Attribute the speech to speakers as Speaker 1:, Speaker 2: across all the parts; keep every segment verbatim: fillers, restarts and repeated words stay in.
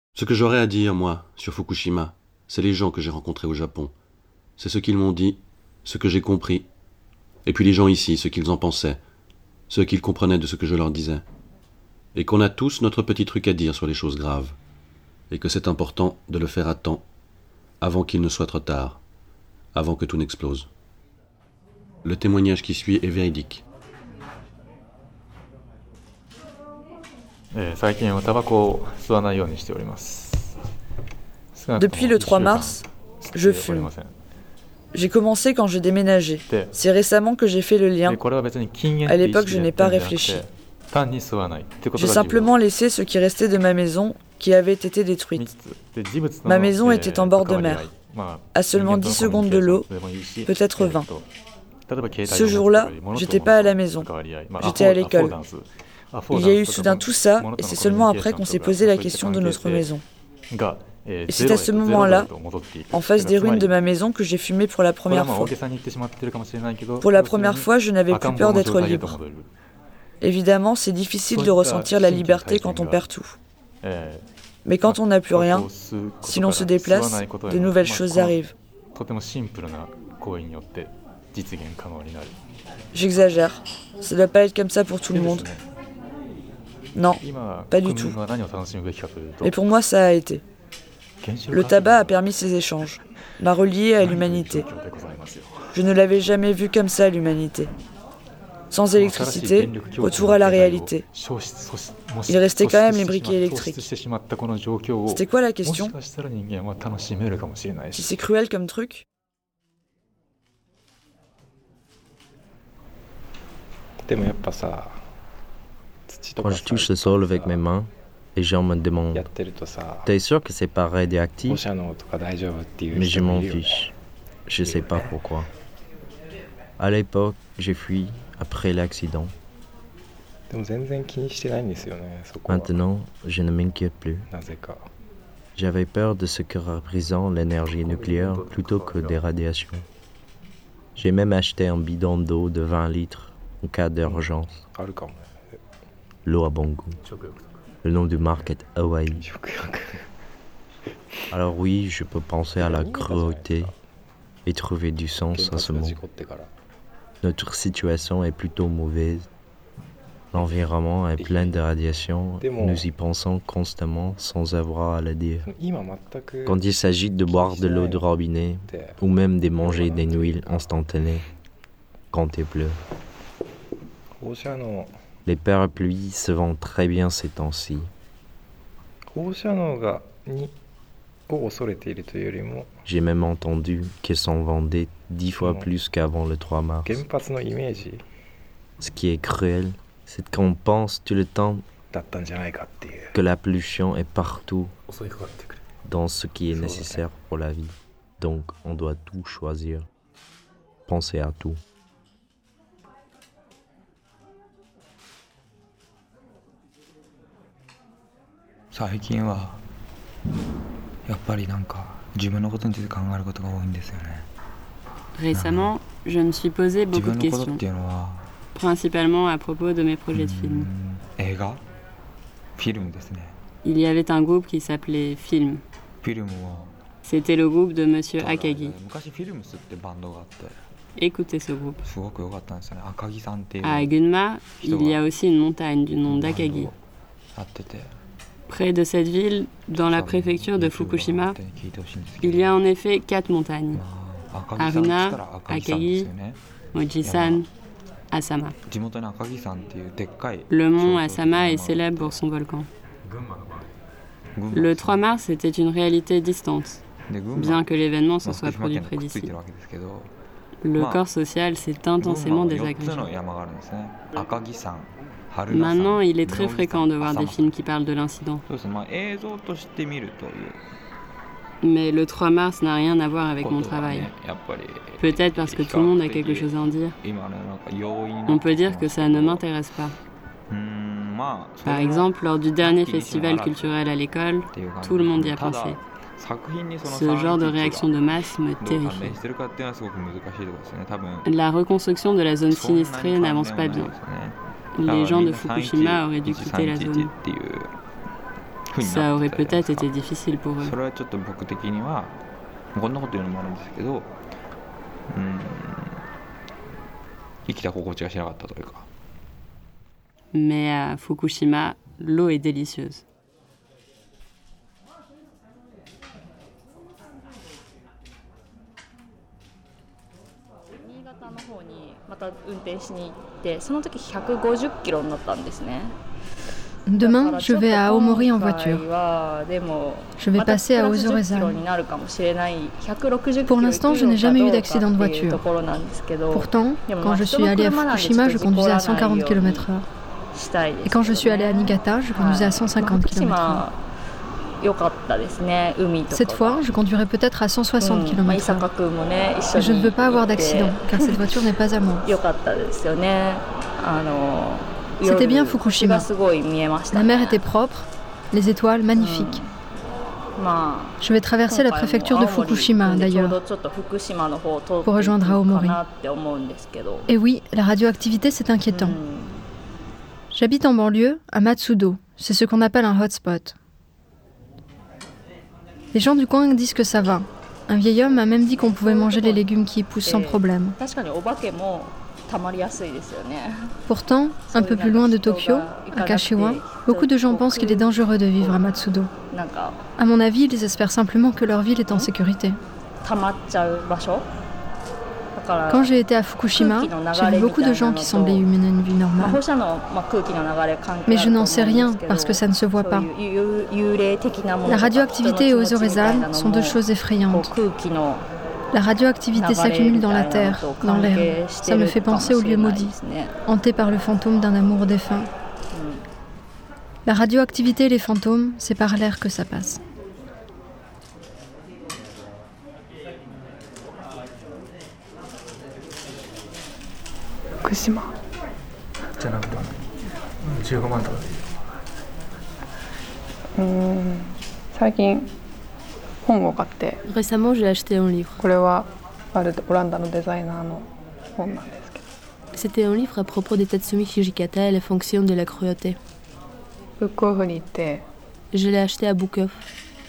Speaker 1: Ce que j'aurais à dire, moi, sur Fukushima, c'est les gens que j'ai rencontrés au Japon. C'est ce qu'ils m'ont dit, ce que j'ai compris. Et puis les gens ici, ce qu'ils en pensaient, ce qu'ils comprenaient de ce que je leur disais. Et qu'on a tous notre petit truc à dire sur les choses graves. Et que c'est important de le faire à temps, avant qu'il ne soit trop tard, avant que tout n'explose. Le témoignage qui suit est véridique.
Speaker 2: Depuis le trois mars, je fume. J'ai commencé quand je déménageais. C'est récemment que j'ai fait le lien. À l'époque, je n'ai pas réfléchi. J'ai simplement laissé ce qui restait de ma maison qui avait été détruite. Ma maison était en bord de mer, à seulement dix secondes de l'eau, peut-être vingt. Ce jour-là, j'étais pas à la maison, j'étais à l'école. Il y a eu soudain tout ça, et c'est seulement après qu'on s'est posé la question de notre maison. Et c'est à ce moment-là, en face des ruines de ma maison, que j'ai fumé pour la première fois. Pour la première fois, je n'avais plus peur d'être libre. Évidemment, c'est difficile de ressentir la liberté quand on perd tout. Mais quand on n'a plus rien, si l'on se déplace, de nouvelles choses arrivent. J'exagère. Ça ne doit pas être comme ça pour tout le monde. Non, pas du tout. Mais pour moi, ça a été. Le tabac a permis ces échanges, m'a relié à l'humanité. Je ne l'avais jamais vu comme ça, l'humanité. Sans électricité, retour à la réalité. Il restait quand même les briquets électriques. C'était quoi la question? Si c'est cruel comme truc?
Speaker 3: Quand je touche le sol avec mes mains, les gens me demandent « T'es sûr que c'est pas radioactif ?» Mais je m'en fiche. Je sais pas pourquoi. À l'époque, j'ai fui après l'accident. Maintenant, je ne m'inquiète plus. J'avais peur de ce que représente l'énergie nucléaire plutôt que des radiations. J'ai même acheté un bidon d'eau de vingt litres en cas d'urgence. L'eau a bon goût. Le nom du marque est Hawaii. Alors oui, je peux penser à la cruauté et trouver du sens à ce mot. Notre situation est plutôt mauvaise. L'environnement est plein de radiation. Nous y pensons constamment sans avoir à le dire. Quand il s'agit de boire de l'eau de robinet ou même de manger des huiles instantanées, quand il pleut. Les parapluies se vendent très bien ces temps-ci. J'ai même entendu qu'ils s'en vendaient dix fois plus qu'avant le trois mars. Ce qui est cruel, c'est qu'on pense tout le temps que la pollution est partout dans ce qui est nécessaire pour la vie. Donc on doit tout choisir, penser à tout.
Speaker 4: Récemment, je me suis posé beaucoup de questions, principalement à propos de mes projets de films. Il y avait un groupe qui s'appelait Film. C'était le groupe de Monsieur Akagi. Écoutez ce groupe. À Gunma, il y a aussi une montagne du nom d'Akagi. Près de cette ville, dans la préfecture de Fukushima, il y a en effet quatre montagnes. Haruna, Akagi, Moji-san, Asama. Le mont Asama est célèbre pour son volcan. Le trois mars était une réalité distante, bien que l'événement se soit produit près d'ici. Le corps social s'est intensément désagrégé. Maintenant, il est très fréquent de voir des films qui parlent de l'incident. Mais le trois mars n'a rien à voir avec mon travail. Peut-être parce que tout le monde a quelque chose à en dire. On peut dire que ça ne m'intéresse pas. Par exemple, lors du dernier festival culturel à l'école, tout le monde y a pensé. Ce genre de réaction de masse me terrifie. La reconstruction de la zone sinistrée n'avance pas bien. Les gens de Fukushima auraient dû quitter la zone. Ça aurait peut-être été difficile pour eux. Mais à Fukushima, l'eau est délicieuse.
Speaker 5: Demain, je vais à Aomori en voiture. Je vais passer à Ozorezan. Pour l'instant, je n'ai jamais eu d'accident de voiture. Pourtant, quand je suis allée à Fukushima, je conduisais à cent quarante kilomètres heure. Et quand je suis allée à Niigata, je conduisais à cent cinquante kilomètres heure. Cette fois, je conduirai peut-être à cent soixante kilomètres heure. Et je ne veux pas avoir d'accident, car cette voiture n'est pas à moi. C'était bien Fukushima. La mer était propre, les étoiles magnifiques. Je vais traverser la préfecture de Fukushima, d'ailleurs, pour rejoindre Aomori. Et oui, la radioactivité, c'est inquiétant. J'habite en banlieue, à Matsudo. C'est ce qu'on appelle un hotspot. Les gens du coin disent que ça va. Un vieil homme m'a même dit qu'on pouvait manger les légumes qui y poussent sans problème. Pourtant, un peu plus loin de Tokyo, à Kashiwa, beaucoup de gens pensent qu'il est dangereux de vivre à Matsudo. À mon avis, ils espèrent simplement que leur ville est en sécurité. Quand j'ai été à Fukushima, j'ai vu beaucoup de gens qui semblaient mener une vie normale. Mais je n'en sais rien parce que ça ne se voit pas. La radioactivité et Ozorezan sont deux choses effrayantes. La radioactivité s'accumule dans la terre, dans l'air. Ça me fait penser au lieu maudit, hanté par le fantôme d'un amour défunt. La radioactivité et les fantômes, c'est par l'air que ça passe. Fukushima.
Speaker 4: Récemment, j'ai acheté un livre. C'était un livre à propos de Tatsumi Hijikata et les fonctions de la cruauté. Je l'ai acheté à Book Off.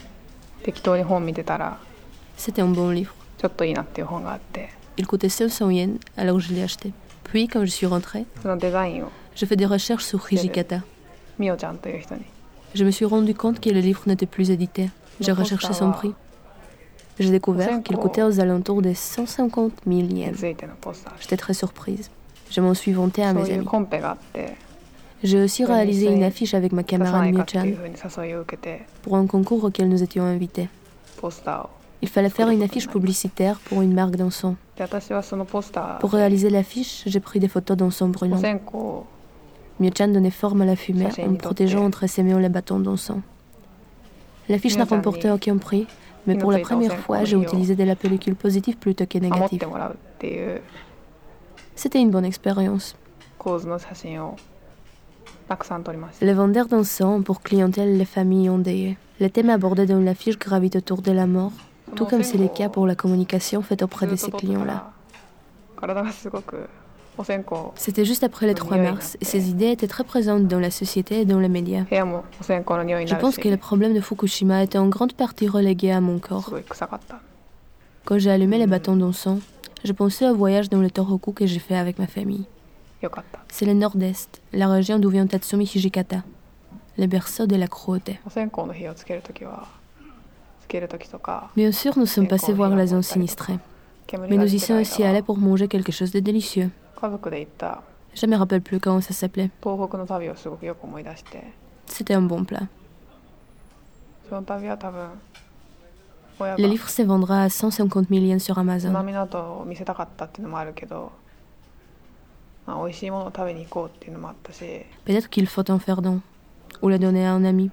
Speaker 4: C'était un bon livre. Il coûtait cinq cents yens, alors je l'ai acheté. Puis, quand je suis rentrée, je fais des recherches sur Hijikata. Je me suis rendu compte que le livre n'était plus édité. J'ai recherché son prix. J'ai découvert qu'il coûtait aux alentours de cent cinquante mille yens. J'étais très surprise. Je m'en suis vantée à mes amis. J'ai aussi réalisé une affiche avec ma camarade Mio-chan pour un concours auquel nous étions invités. Il fallait faire une affiche publicitaire pour une marque d'encens. Pour réaliser l'affiche, j'ai pris des photos d'encens brûlant. Mio-chan donnait forme à la fumée en me protégeant entre ses mains les bâtons d'encens. L'affiche n'a remporté aucun prix, mais pour la première fois, j'ai utilisé de la pellicule positive plutôt que négative. C'était une bonne expérience. Les vendeurs d'encens ont pour clientèle les familles endeuillées. Les thèmes abordés dans l'affiche gravitent autour de la mort, tout comme c'est le cas pour la communication faite auprès de ces clients-là. C'était juste après le trois mars et ces idées étaient très présentes dans la société et dans les médias. Je pense que le problème de Fukushima était en grande partie relégué à mon corps. Quand j'ai allumé les bâtons d'encens, je pensais au voyage dans le Tohoku que j'ai fait avec ma famille. C'est le nord-est, la région d'où vient Tatsumi Hijikata, le berceau de la cruauté. Bien sûr, nous sommes passés voir la zone sinistrée, mais nous y sommes aussi allés pour manger quelque chose de délicieux. Je ne me rappelle plus comment ça s'appelait. C'était un bon plat. Le livre se vendra à cent cinquante mille yens sur Amazon. Peut-être qu'il faut en faire don, ou le donner à un ami.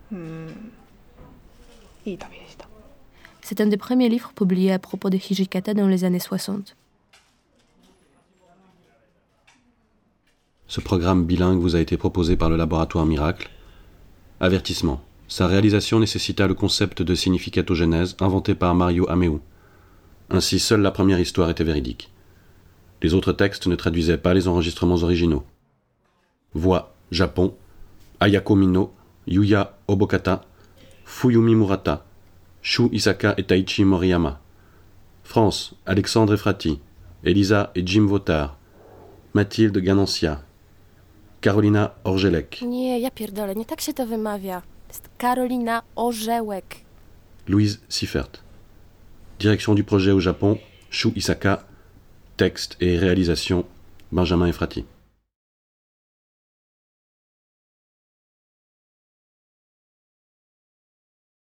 Speaker 4: C'est un des premiers livres publiés à propos de Hijikata dans les années soixante.
Speaker 1: Ce programme bilingue vous a été proposé par le laboratoire Miracle. Avertissement. Sa réalisation nécessita le concept de significatogénèse inventé par Mario Ameu. Ainsi, seule la première histoire était véridique. Les autres textes ne traduisaient pas les enregistrements originaux. Voix, Japon, Ayako Mino, Yuya Obokata, Fuyumi Murata, Shu Isaka et Taichi Moriyama. France, Alexandre Efrati, Elisa et Jim Votard, Mathilde Ganancia, Karolina Orzelek.
Speaker 6: Nie, ja pierdolę, nie tak się to wymawia. To jest Karolina Orzełek.
Speaker 1: Louise Siffert. Direction du projet au Japon, Shu Isaka. Texte et réalisation, Benjamin Efrati.